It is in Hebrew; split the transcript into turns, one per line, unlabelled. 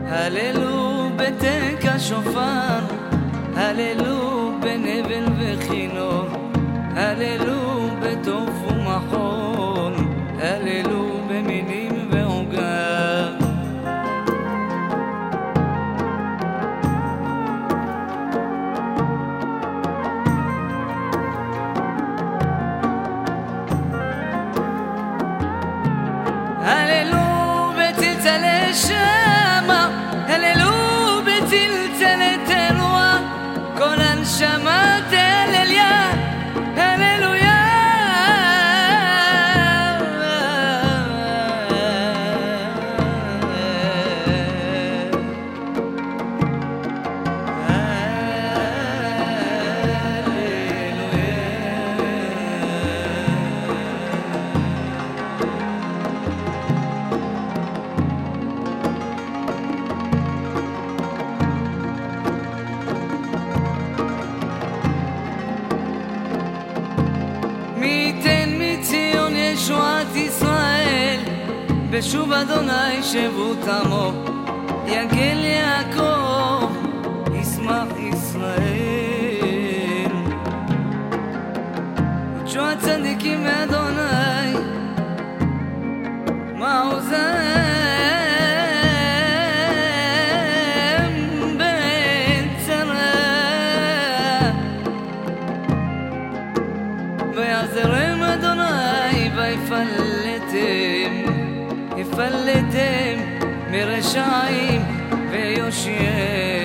הללו בתקע שופר, הללו בנבל וכינור, הללו בטוף ומחול, הללו במינים ועוגב. הללו בצלצלי שמה, הללו בצלצלי תרועה, כל הנשמה תהלליה, הללויה. מי ייתן מציון ישועת ישראל, בשוב אדוני שבות עמו, יגל יעקב ישמח ישראל. ותשוע הצדיקים מאדוני מעוזם בצרה, ויעזרם אדוני ויפלטם מרשעים ויושיעם.